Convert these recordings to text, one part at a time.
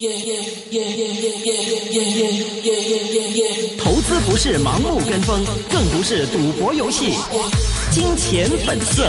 投資不是盲目跟風，更不是賭博遊戲。金錢本色。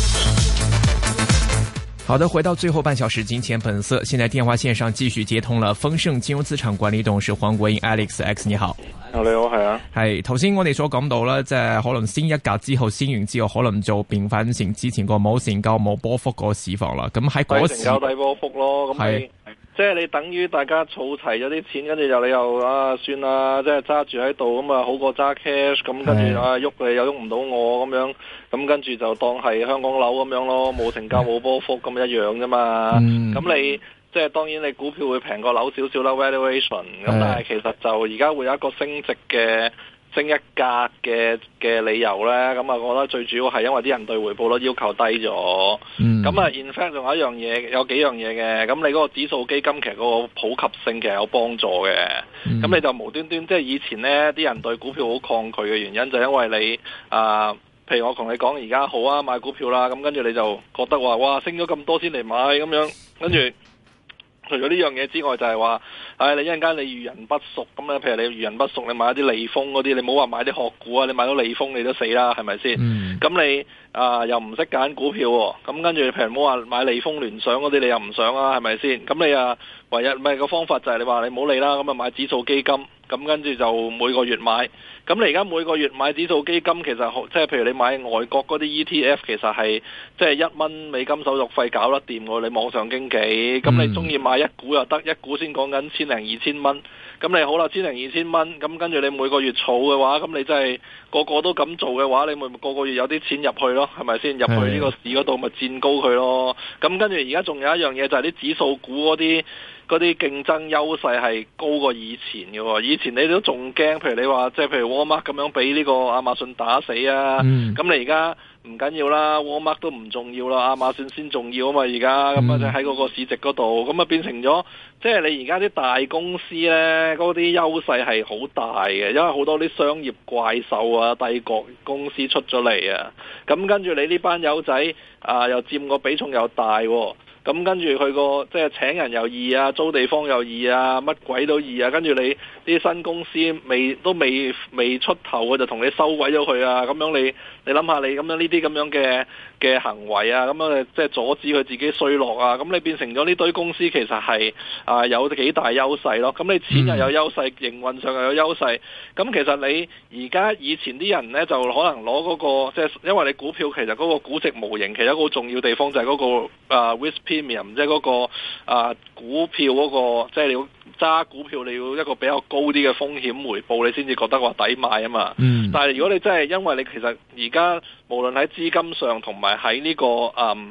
好的，回到最後半小時，金錢本色。現在電話線上繼續接通了豐盛金融資產管理董事黃國英 Alex， 你好。 你好，係啊。 係頭先我哋所講到啦，即係可能先一格之後，先完之後，可能就變翻成之前個冇成交冇波幅個市況啦。咁喺嗰時成交低波幅咯，咁你即係你等於大家儲齊咗啲錢，跟住你又算啦，即係揸住喺度咁啊，好過揸 cash， 咁跟住喐你又喐唔到我咁樣，咁跟住就當係香港樓咁樣咯，冇成交冇波幅咁一樣啫嘛。咁你即係當然你股票會平過樓少少啦 valuation， 咁但係其實就而家會有一個升值嘅升一格嘅理由咧，咁啊，我覺得最主要係因為啲人對回報率要求低咗。咁啊，in fact 仲有一樣嘢，有幾樣嘢嘅。咁你嗰個指數基金其實嗰個普及性其實有幫助嘅。咁你就無端端即係以前咧，啲人對股票好抗拒嘅原因就因為你譬如我同你講而家好啊，買股票啦，咁跟住你就覺得話哇升咗咁多先嚟買咁樣，跟住。除咗呢樣嘢之外，就係話，你一陣間你遇人不淑咁咧，譬如你遇人不淑，你買一啲利豐嗰啲，你唔好話買啲殼股啊，你買到利豐你都死啦，係咪先？咁你又唔識揀股票喎，咁跟住譬如唔好話買利豐聯想嗰啲，你又唔想啊，係咪先？咁你唯一咪個方法就係你話你唔好理啦，咁啊買指數基金，咁跟住就每個月買。咁你而家每個月買指數基金，其實即係譬如你買外國嗰啲 ETF， 其實係即係$1手續費搞得掂喎。你網上經紀，咁你中意買一股又得，一股先講緊千零二千蚊。咁你好啦，千零二千蚊，咁跟住你每個月儲嘅話，咁你真係個個都咁做嘅話，你咪個個月有啲錢入去咯，係咪先？入去呢個市嗰度咪佔高佢咯。咁跟住而家仲有一樣嘢就係啲指數股嗰啲競爭優勢係高過以前嘅喎。以前你都仲驚，譬如你話即係譬如 Walmart 咁樣俾呢個亞馬遜打死啊。咁你而家唔緊要啦 ，Walmart 都唔重要啦，亞馬遜先重要啊嘛。而家咁啊，就喺嗰個市值嗰度，咁啊變成咗即係你而家啲大公司呢，嗰啲優勢係好大嘅，因為好多啲商業怪獸啊、帝國公司出咗嚟啊。咁跟住你呢班友仔又佔個比重又大喎。咁跟住佢個即係請人又易啊，租地方又易啊，乜鬼都易啊。跟住你啲新公司未出頭，佢就同你收鬼咗佢啊。咁樣你諗下，你咁樣呢啲咁樣嘅行為啊，咁樣即係阻止佢自己衰落啊。咁你變成咗呢堆公司其實係有幾大優勢咯。咁你錢又有優勢，營運上又有優勢。咁其實你而家以前啲人呢，就可能攞嗰個即係因為你股票其實嗰個估值模型其實一個好重要地方就係嗰個risk premium，即係嗰個股票嗰個即係你要揸股票你要一個比較高啲嘅風險回報，你先至覺得話抵買啊嘛。但係如果你真係因為你其實而家無論喺資金上同埋喺呢個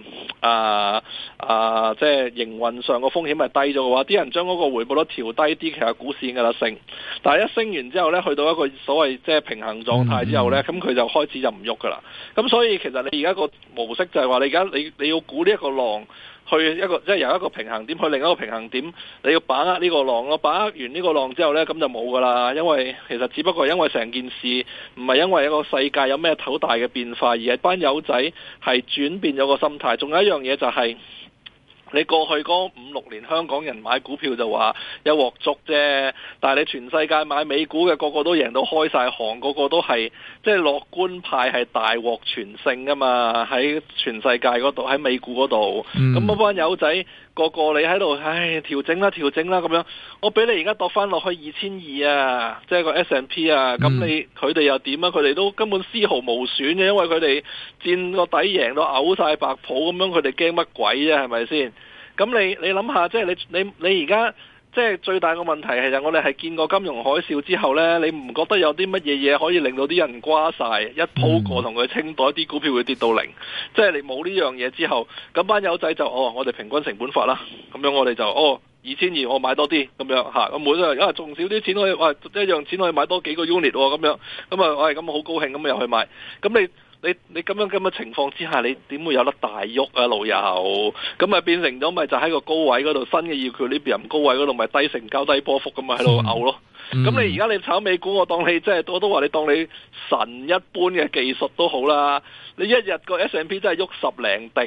即係營運上個風險係低咗嘅話，啲人將嗰個回報率調低啲，其實股市應該得升。但係一升完之後呢，去到一個所謂即係平衡狀態之後呢，咁佢就開始就唔喐噶啦。咁所以其實你而家個模式就係話你而家你要估呢一個浪。去一個即係由一個平衡點去另一個平衡點，你要把握呢個浪咯。把握完呢個浪之後呢，咁就冇噶啦。因為其實只不過因為成件事唔係因為一個世界有咩好大嘅變化，而係班友仔係轉變咗個心態。仲有一樣嘢就係、你過去嗰5-6年香港人買股票就話一鑊粥啫，但係你全世界買美股嘅個個都贏到開晒行，個個都係即係樂觀派係大獲全勝噶嘛，喺全世界嗰度，喺美股嗰度，咁嗰班友仔個個你喺度，調整啦咁樣，我俾你而家度翻落去2200啊，即係個 S&P 啊，咁佢哋又點啊？佢哋都根本絲毫無損嘅，因為佢哋佔個底贏到嘔晒白泡咁樣，佢哋驚乜鬼啫？係咪先？咁你諗下，即係你而家即係最大個問題係，我哋係見過金融海嘯之後呢，你唔覺得有啲乜嘢嘢可以令到啲人瓜晒，一鋪過同佢清袋，啲股票會跌到0，即係你冇呢樣嘢之後，咁班友仔就我哋平均成本法啦，咁樣我哋就2200我買多啲咁樣嚇，咁每人仲少啲錢可以一樣錢可以買多幾個 unit 咁樣，咁好高興咁又去買，咁你咁嘅情況之下，你點會有得大喐啊老友？咁變成咗咪就喺個高位嗰度，新嘅 equilibrium 高位嗰度咪低成交低波幅咁咪喺度嘔咯。咁你而家你炒美股，我當你即係我都話你當你神一般嘅技術都好啦。你一日個 S&P 真係喐10零滴，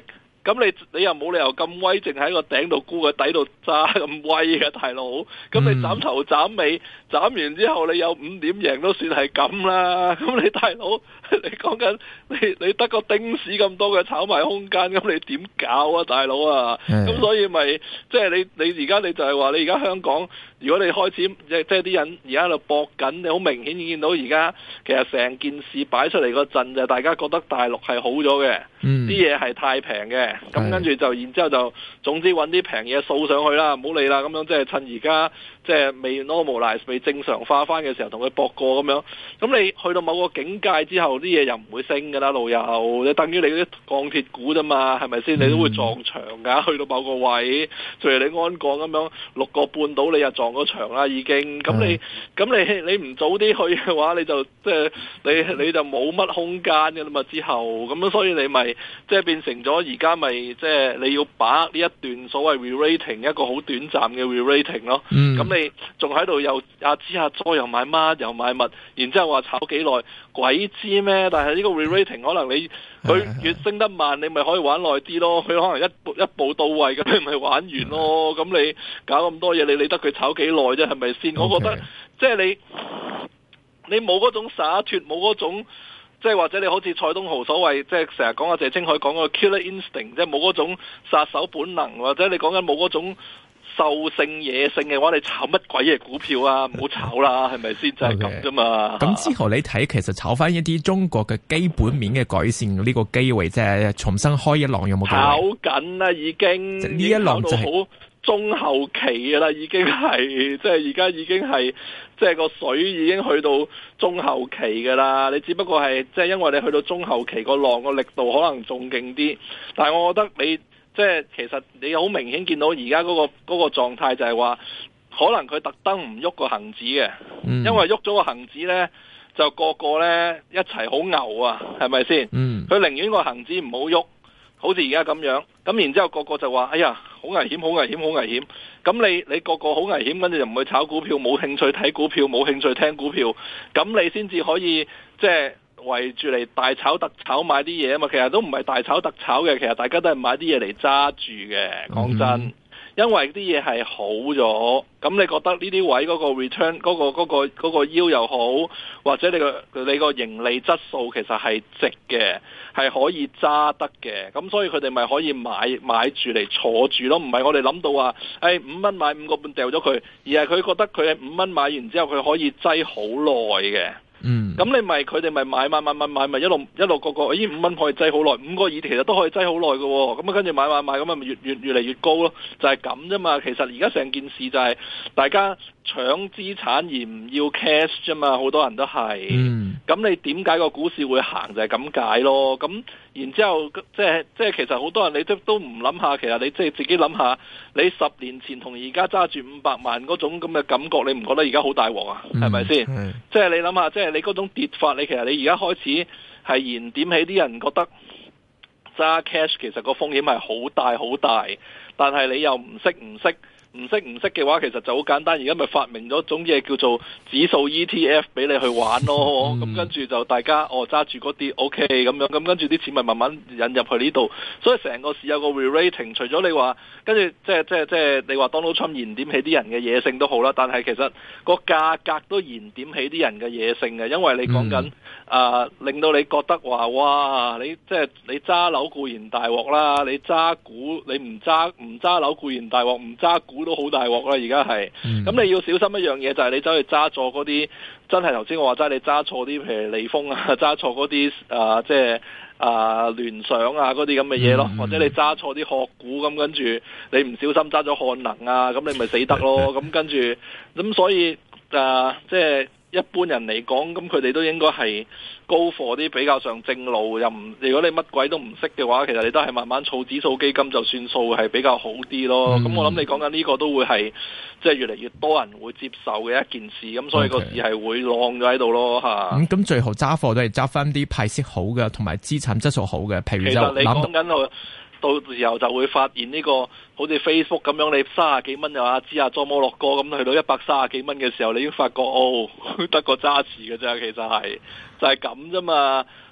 咁你又冇理由咁威，淨喺個頂度沽個底度揸咁威嘅大佬。咁你斬頭斬尾，斬完之後你有5點贏都算係咁啦。咁你大佬，你講緊你得個丁屎咁多嘅炒賣空間，咁你點搞啊，大佬啊？咁所以咪即係你而家你就係話你而家香港，如果你開始即係啲人而家喺度搏緊，你好明顯見到而家其實成件事擺出嚟個陣就係大家覺得大陸係好咗嘅，啲嘢係太平嘅，咁跟住就然之後就總之揾啲平嘢掃上去啦，唔好理啦，咁樣即係趁而家即係未 normalize 未正常化翻嘅時候同佢搏過咁樣。咁你去到某個境界之後，啲嘢又唔會升㗎啦，老友，你等於你啲鋼鐵股啫嘛，係咪先？你都會撞牆㗎，去到某個位，譬如你安鋼咁樣6個半到，你又撞咗牆啦已經。咁你唔早啲去嘅話，你就即係你就冇乜空間㗎啦嘛。之後咁樣，所以你咪即係變成咗而家咪即係你要把握呢一段所謂 re-rating 一個好短暫嘅 re-rating 咯。咁你仲喺度又知又買乜又買物，然之後話炒幾耐，鬼知咩？但係呢個 re-rating 可能佢越升得慢，你咪可以玩耐啲咯。佢可能一步到位咁，你咪玩完咯。咁你搞咁多嘢，你理得佢炒幾耐啫？係咪先？我覺得即係你冇嗰種灑脫，冇嗰種。即係或者你好似蔡東豪所謂，即係成日講阿謝清海講個 killer instinct，即係冇嗰種殺手本能，或者你講緊冇嗰種獸性野性嘅話，你炒乜鬼嘢股票啊？唔好炒啦，係咪先？就係咁啫嘛。 咁之後你睇，其實炒翻一啲中國嘅基本面嘅改善呢個機會，即係重新開一浪有冇機會？炒緊啦，已經呢一浪就係好中後期嘅啦，已經係即係而家已經係即係個水已經去到中後期嘅啦。你只不過係即係因為你去到中後期個浪個力度可能仲勁啲，但係我覺得你即係其實你好明顯見到而家嗰個狀態就係話，可能佢特登唔喐個恒指嘅，因為喐咗個恒指呢，就個個呢一齊好牛啊，係咪先？佢寧願個恒指唔好喐。好似而家咁樣，咁然之後個個就話：哎呀，好危險，好危險，好危險！咁你個個好危險，跟住就唔去炒股票，冇興趣睇股票，冇興趣聽股票，咁你先至可以即係圍住嚟大炒特炒買啲嘢啊嘛！其實都唔係大炒特炒嘅，其實大家都係買啲嘢嚟揸住嘅。講真，因為啲嘢係好咗，咁你覺得呢啲位嗰個 return 嗰個 yield 又好，或者你個盈利質素其實係值嘅。係可以揸得嘅，咁所以佢哋咪可以買住嚟坐住咯，唔係我哋諗到話，5蚊買5個半掉咗佢，而係佢覺得佢係5蚊買完之後佢可以擠好耐嘅。咁你咪佢哋咪買咪一路個5蚊可以擠好耐，5個耳其實都可以擠好耐嘅，咁啊跟住買咁啊咪越嚟越高咯，就係咁啫嘛。其實而家成件事就係大家搶資產而唔要 cash 啫嘛，好多人都係。咁你點解個股市會行就係咁解咯。咁然之後即係其實好多人你都唔諗下，其實你即係自己諗下，你10年前同而家揸住500萬嗰種咁嘅感覺，你唔覺得而家好大鑊啊？係咪先？即係你諗下，即係你嗰種跌法，你其實你而家開始係燃點起啲人覺得揸 cash 其實個風險係好大好大，但係你又唔識嘅話，其實就好簡單。而家咪發明咗種嘢叫做指數 ETF 俾你去玩咯。咁跟住就大家揸住嗰啲 OK 咁樣，咁跟住啲錢咪慢慢引入去呢度。所以成個市有個 re-rating。除咗你話跟住即係你話 Donald Trump 燃點起啲人嘅野性都好啦，但係其實個價格都燃點起啲人嘅野性嘅，因為你講緊令到你覺得話哇，你即係你揸樓固然大鑊啦，你揸股你唔揸樓固然大鑊，唔揸股都好大鑊啦。而家係咁，你要小心一樣嘢，就係你走去揸錯嗰啲真係頭先我話齋，你揸錯啲譬如利豐啊，揸錯嗰啲即係聯想啊嗰啲咁嘅嘢咯，或者你揸錯啲殼股，咁跟住你唔小心揸咗漢能啊，咁你咪死得咯。咁跟住咁所以即係一般人嚟講，咁佢哋都應該係高貨啲比較上正路，又唔如果你乜鬼都唔識嘅話，其實你都係慢慢儲指數基金就算數，係比較好啲咯。咁我諗你講緊呢個都會係即係越嚟越多人會接受嘅一件事，咁所以個市係會浪咗喺度咯嚇。咁最後揸貨都係揸翻啲派息好嘅，同埋資產質素好嘅，譬如就其實你講緊到時候就會發現呢個好似 Facebook 咁樣，你30幾蚊又知佐摩洛哥咁去到130幾蚊嘅時候，你已經發覺得個揸持嘅啫，其實係就係咁啫嘛。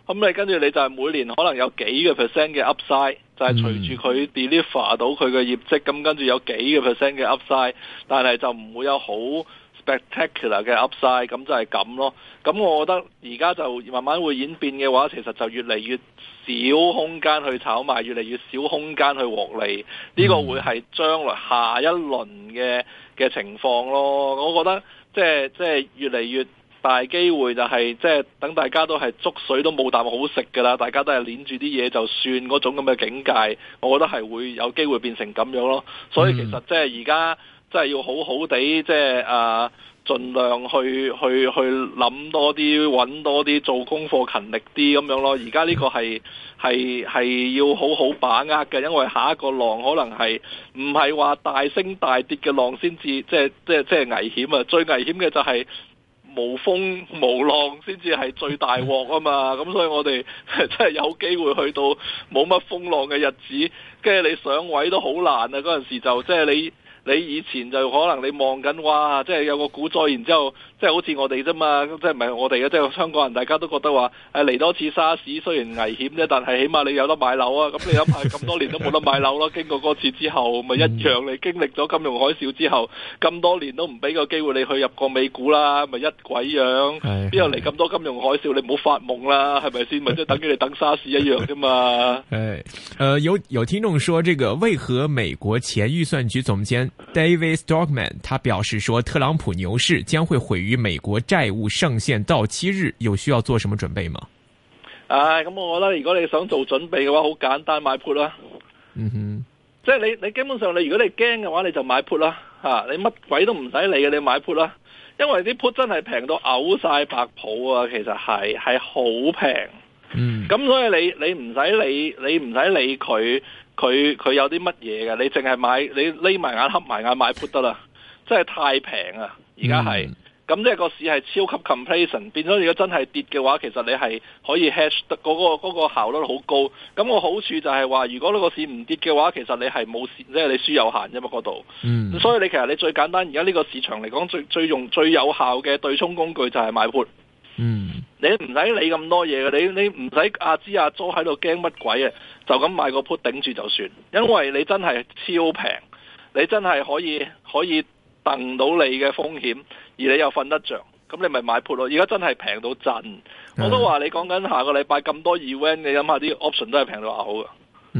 咁你跟住你就係每年可能有幾個 percent 嘅 upside，就係隨住佢 deliver 到佢嘅業績，咁跟住有幾個 percent 嘅 upside，但係就唔會有好 spectacular 嘅 upside，咁就係咁咯。咁我覺得而家就慢慢會演變嘅話，其實就越嚟越少空間去炒賣，越嚟越少空間去獲利。呢個會係將來下一輪嘅情況咯。我覺得即係越嚟越大機會就係即係等大家都係粥水都冇啖好食㗎啦，大家都係捏住啲嘢就算嗰種咁嘅境界，我覺得係會有機會變成咁樣咯。所以其實即係而家即係要好好地即係盡量去諗多啲，揾多啲，做功課勤力啲咁樣咯。而家呢個係要好好把握嘅，因為下一個浪可能係唔係話大升大跌嘅浪先至即係危險啊！最危險嘅就係無風無浪先至係最大鑊啊嘛！咁所以我哋真係有機會去到冇乜風浪嘅日子，跟住你上位都好難啊！嗰陣時就即係你以前就可能你望緊哇，即係有個股災，然之後即係好似我哋啫嘛，即係唔係我哋嘅，即係香港人，大家都覺得話嚟多次沙士，雖然危險啫，但係起碼你有得買樓啊！咁你諗下咁多年都冇得買樓咯，經過嗰次之後，咪一樣你經歷咗金融海嘯之後，咁多年都唔俾個機會你去入個美股啦，咪一鬼樣，邊有嚟咁多金融海嘯？你唔好發夢啦，係咪先？咪即係等於你等沙士一樣啫嘛。 有聽眾說，這個為何美國前預算局總監David Stockman 他表示說，特朗普牛市將會毀於美國債務上限到期日，有需要做什麼準備嗎？ 咁我覺得如果你想做準備嘅話，好簡單，買 put 啦。 嗯哼， 即係你基本上你如果你驚嘅話，你就買 put 啦。你乜鬼都唔使理嘅，你買 put 啦。因為啲 put 真係平到嘔晒白泡啊，其實係好平。咁所以你唔使理佢有啲乜嘢嘅，你淨係買，你匿埋眼黑埋眼買 put 得啦，真係太平啊！而家係，咁即係個市係超級 complacent， 變咗如果真係跌嘅話，其實你係可以 hedge 得嗰個效率好高。咁個好處就係話，如果呢個市唔跌嘅話，其實你係冇蝕，即係你輸有限啫嘛嗰度。所以你其實你最簡單，而家呢個市場嚟講最有效嘅對沖工具就係買 put。你唔使理咁多嘢嘅，你唔使阿支阿佐喺度驚乜鬼啊，就咁買個 put 頂住就算，因為你真係超平，你真係可以掟到你嘅風險，而你又瞓得着，咁你咪買 put 咯。而家真係平到震，我都話你講緊下個禮拜咁多 event，你諗下啲 option 都係平到好嘅。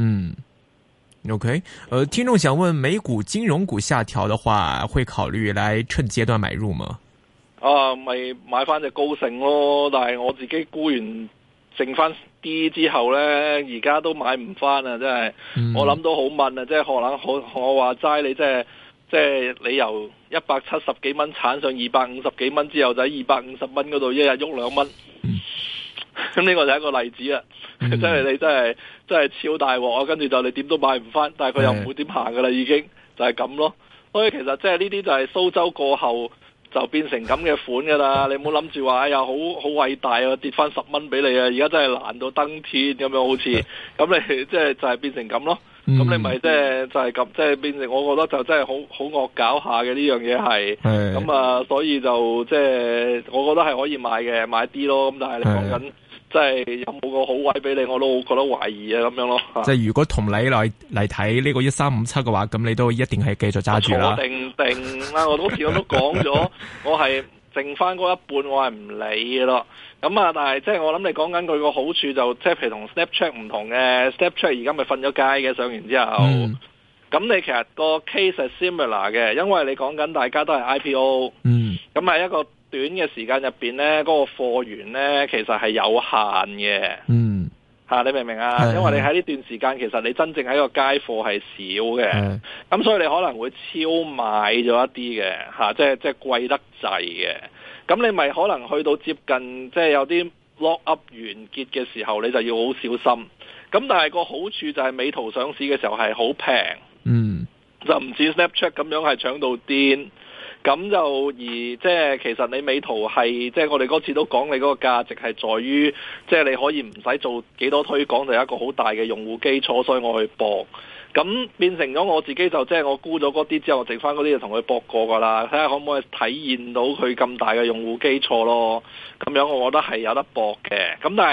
OK，聽眾想問，美股金融股下調的話，會考慮來趁階段買入嗎？ 咪買翻隻高盛咯，但係我自己沽完剩翻啲之後呢，而家都買唔翻啊！真係，我諗到好問啊！即係可能我話齋你即係你由170幾蚊鏟上250幾蚊之後，就喺250蚊嗰度一日喐2蚊，咁呢個就係一個例子啊！真係你真係超大鑊啊！跟住就你點都買唔翻，但係佢又唔會點行噶啦，已經就係咁咯。所以其實即係呢啲就係蘇州過後就變成咁嘅款噶啦，你唔好諗住話哎呀好偉大啊，跌翻10蚊俾你啊！而家真係難到登天咁樣，好似咁你即係就係變成咁咯。咁你咪即係就係咁，即係變成我覺得就真係好惡搞下嘅呢樣嘢係。咁所以就即係我覺得係可以買嘅，買啲咯。咁但係你講緊即係有冇個好位俾你，我都覺得懷疑啊咁樣咯。即係如果同你嚟睇呢個1357嘅話，咁你都一定係繼續揸住啦。 定啦，我好似我都講咗，我係剩翻嗰一半，我係唔理嘅咯。咁但係即係我諗你講緊佢個好處就即係譬如同 Snapchat 唔同嘅 Snapchat 而家咪瞓咗街嘅，上完之後，咁你其實個 case 係 similar 嘅，因為你講緊大家都係 IPO，咁係一個短嘅時間入邊咧，嗰個貨源咧其實係有限嘅，你明唔明啊？因為你喺呢段時間其實你真正喺個街貨係少嘅，咁所以你可能會超買咗一啲嘅，即係貴得滯嘅。咁你咪可能去到接近即係有啲 lock up 完結嘅時候，你就要好小心。咁但係個好處就係美圖上市嘅時候係好平，就唔似 Snapchat 咁樣係搶到癲。咁就即係其實你美圖係即係我哋嗰次都講你嗰個價值係在於，即係你可以唔使做幾多推廣就有一個好大嘅用戶基礎，所以我去搏。咁變成咗我自己就即係我沽咗嗰啲之後，我剩翻嗰啲就同佢搏過噶啦，睇下可唔可以體現到佢咁大嘅用戶基礎咯。咁樣我覺得係有得搏嘅。咁但係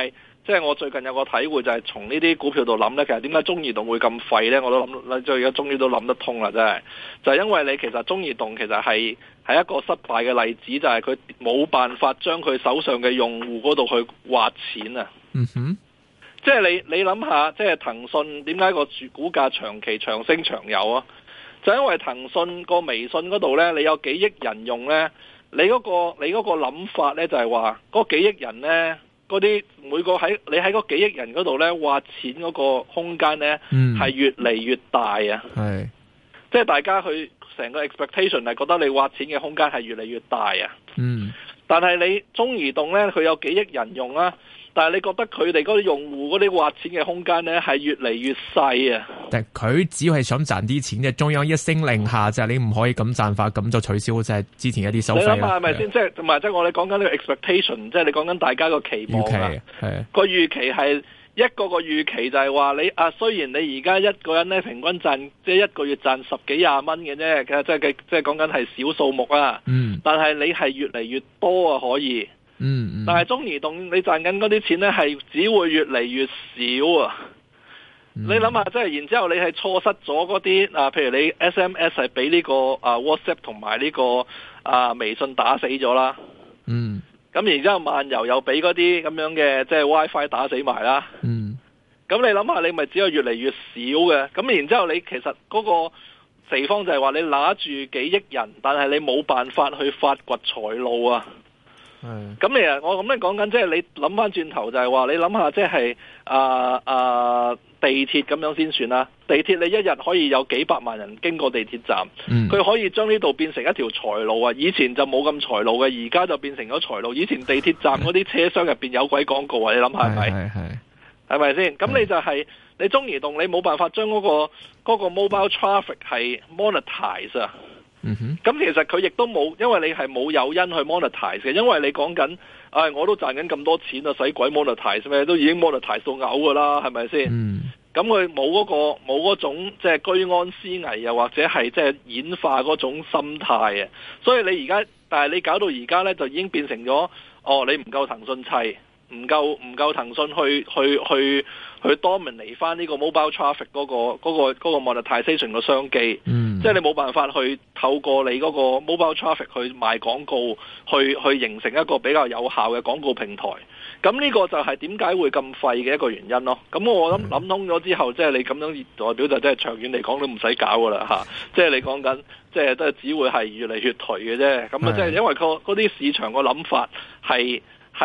即係我最近有個體會就係從呢啲股票度諗呢，其實點解中移動會咁廢呢？我都諗，即係而家終於都諗得通啦，真係就係因為你其實中移動其實係一個失敗嘅例子，就係佢冇辦法將佢手上嘅用戶嗰度去挖錢啊。 嗯哼， 即係你諗下，即係騰訊點解個股價長期長升長有啊？就因為騰訊個微信嗰度呢，你有幾億人用呢，你嗰個諗法呢，就係話嗰幾億人呢。嗰啲每個你喺嗰幾億人嗰度呢，挖錢嗰個空間呢，係越嚟越大啊！ 係， 即係大家去成個 expectation 係覺得你挖錢嘅空間係越嚟越大啊！但係你中移動呢，佢有幾億人用啊，但係你覺得佢哋嗰啲用戶嗰啲挖錢嘅空間呢，係越嚟越細啊！ 但係佢只要係想賺啲錢嘅，中央一聲令下就係你唔可以咁賺法，咁就取消即係之前一啲收費啦。你諗下係咪先？即係同埋即係我哋講緊呢個 expectation，即係你講緊大家個期望啊。個預期係一個預期就係話你啊，雖然你而家一個人咧平均賺即係一個月賺10幾20蚊嘅啫，即係講緊係小數目啊。但係你係越嚟越多啊，可以。但係中移動你賺緊嗰啲錢咧，係只會越嚟越少啊。你諗下，即係然之後你係錯失咗嗰啲啊，譬如你 SMS 係俾呢個WhatsApp 同埋呢個微信打死咗啦。咁然之後漫遊又俾嗰啲咁樣嘅即係 WiFi 打死埋啦。咁你諗下，你咪只有越嚟越少嘅。咁然之後你其實嗰個地方就係話你拿住幾億人，但係你冇辦法去發掘財路啊。咁其實我咁樣講緊，即係你諗翻轉頭就係話，你諗下即係地鐵咁樣先算啦。地鐵你一日可以有幾百萬人經過地鐵站，佢可以將呢度變成一條財路啊！以前就冇咁財路嘅，而家就變成咗財路。以前地鐵站嗰啲車廂入邊有鬼廣告啊！你諗下係咪？係咪先？咁你就係你中移動，你冇辦法將嗰個 mobile traffic 係 monetize 啊！咁其實佢亦都冇，因為你係冇誘因去 monetize 嘅，因為你講緊，我都賺緊咁多錢啊，使鬼 monetize 咩？都已經 monetize 到嘔噶啦，係咪先？咁佢冇嗰種即係居安思危，又或者係即係演化嗰種心態啊。所以你而家，但係你搞到而家呢，就已經變成咗，你唔夠騰訊砌，唔夠騰訊去 dominate 翻呢個 mobile traffic 嗰個 monetization 嘅商機，即係你冇辦法去透過你嗰個 mobile traffic 去賣廣告，去形成一個比較有效嘅廣告平台。咁呢個就係點解會咁廢嘅一個原因咯。咁我諗通咗之後，即係你咁樣代表就即係長遠嚟講都唔使搞噶啦嚇。即係你講緊，即係都係只會係越嚟越頹嘅啫。咁啊，即係因為嗰啲市場個諗法係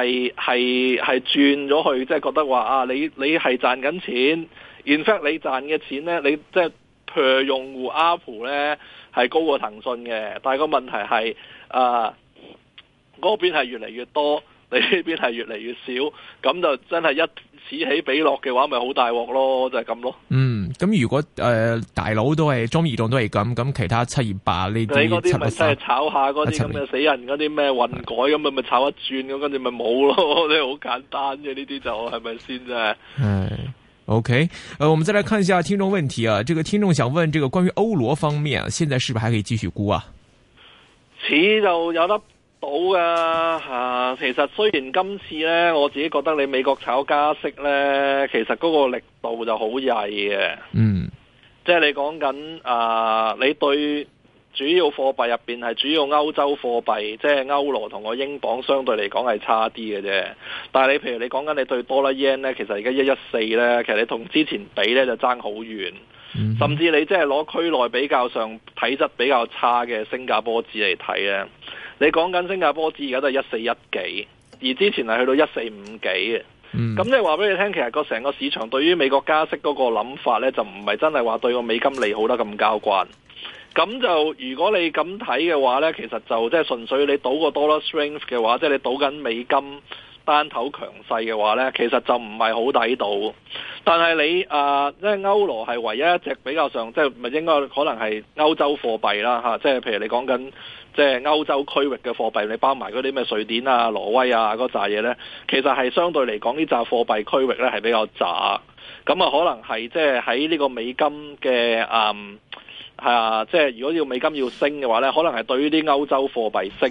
轉咗去，即係覺得話你係賺緊錢 in fact 你賺嘅錢呢，你即係 per 用戶 ARPU 呢係高過騰訊嘅，但係個問題係嗰邊係越嚟越多，你呢邊係越嚟越少，咁就真係一此起彼落嘅話，咪好大鑊咯，就係咁咯。咁如果大佬都係中移動都係咁其他728呢啲，你嗰啲咪真係炒下嗰啲咁嘅死人嗰啲咩混改咁咪炒一轉咁，跟住咪冇咯，你好簡單嘅呢啲就係咪先啫 ？OK，我們再來看一下聽眾問題啊。這個聽眾想問，這個關於歐羅方面，現在是不是還可以繼續沽啊？ 似就有得到噶其實雖然今次呢，我自己覺得你美國炒加息呢，其實嗰個力度就好曳嘅。即係你講緊你對主要貨幣入邊係主要歐洲貨幣，即係歐羅同個英鎊相對嚟講係差啲嘅啫。但係你譬如你講緊你對多啦 yen 呢，其實而家114呢，其實你同之前比呢就爭好遠。甚至你即係攞區內比較上體質比較差嘅新加坡紙嚟睇咧，你講緊新加坡紙而家都係141幾，而之前係去到145幾嘅。咁即係話俾你聽，其實個成個市場對於美國加息嗰個諗法咧，就唔係真係話對個美金利好得咁交關。咁就如果你咁睇嘅話咧，其實就即係純粹你賭個 dollar strength 嘅話，即係你賭緊美金單頭強勢嘅話呢，其實就唔係好抵賭。但係你即係歐羅係唯一一隻比較上，即係咪應該可能係歐洲貨幣啦嚇？即係譬如你講緊即係歐洲區域嘅貨幣，你包埋嗰啲咩瑞典啊、挪威啊嗰扎嘢呢，其實係相對嚟講呢扎貨幣區域呢係比較渣。咁啊，可能係即係喺呢個美金嘅即係如果要美金要升嘅話呢，可能係對於啲歐洲貨幣升。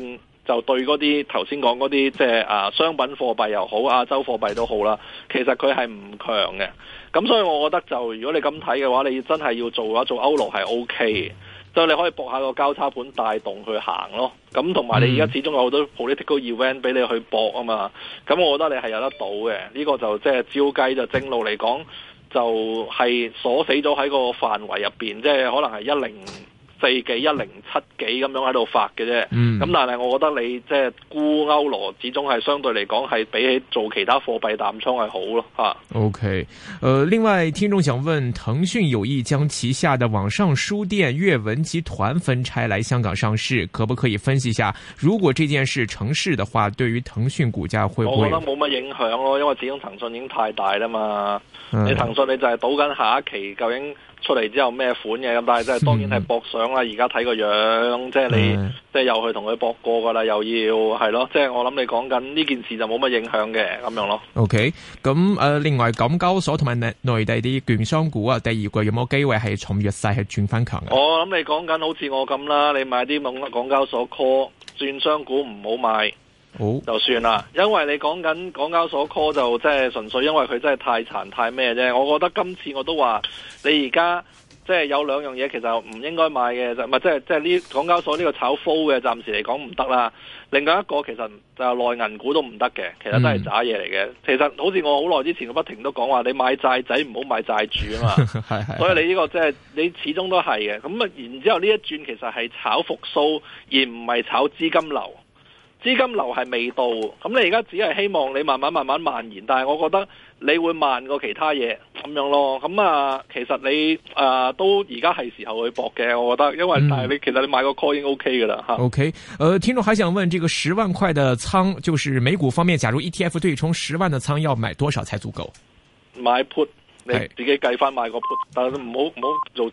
就對嗰啲頭先講嗰啲即係商品貨幣又好，亞洲貨幣都好啦，其實佢係唔強嘅。咁所以我覺得就如果你咁睇嘅話，你真係要做嘅話，做歐羅係 OK 嘅，所以你可以搏下個交叉盤帶動去行咯。咁同埋你而家始終有好多 political event 俾你去搏啊嘛。咁我覺得你係有得到嘅。呢個就即係照計就正路嚟講，就係鎖死咗喺個範圍入邊，即係可能係104幾、107幾咁樣喺度發嘅啫。咁但係我覺得你即係沽歐羅，始終係相對嚟講係比起做其他貨幣淡倉係好咯嚇。 OK，另外聽眾想問，騰訊有意將旗下的網上書店閱文集團分拆來香港上市，可不可以分析一下？如果這件事成事的話，對於騰訊股價會唔會？ 我覺得冇乜影響咯，因為始終騰訊已經太大啦嘛。你騰訊你就係賭緊下一期究竟出嚟之後咩款嘅，咁但係即係當然係搏上啦。而家睇個樣，即係你即係又去同佢搏過噶啦，又要係咯。即係我諗你講緊呢件事就冇乜影響嘅咁樣咯。 OK， 咁另外港交所同埋內地啲券商股啊，第二季有冇機會係從弱勢係轉翻強嘅？ 我諗你講緊好似我咁啦，你買啲港交所 call 券商股唔好買。就算啦，因為你講緊港交所 call 就即係純粹因為佢真係太殘太咩啫。我覺得今次我都話你而家即係有兩樣嘢其實唔應該買嘅，就唔係即係呢港交所呢個炒 flow 嘅，暫時嚟講唔得啦。另外一個其實就內銀股都唔得嘅，其實都係渣嘢嚟嘅。其實好似我好耐之前我不停都講話，你買債仔唔好買債主啊嘛。所以你呢個即係你始終都係嘅。咁啊，然之後呢一轉其實係炒復甦，而唔係炒資金流。資金流係未到，咁你而家只係希望你慢慢蔓延，但係我覺得你會慢過其他嘢咁樣咯。咁其實你都而家係時候去搏嘅，我覺得，因為但係其實你買個 call 已經 OK 噶啦吓。 OK，聽眾還想問，這個10萬塊的倉，就是美股方面，假如 ETF 對沖10萬的倉，要買多少才足夠？ 買 put，你自己計翻買個 put，但係唔好做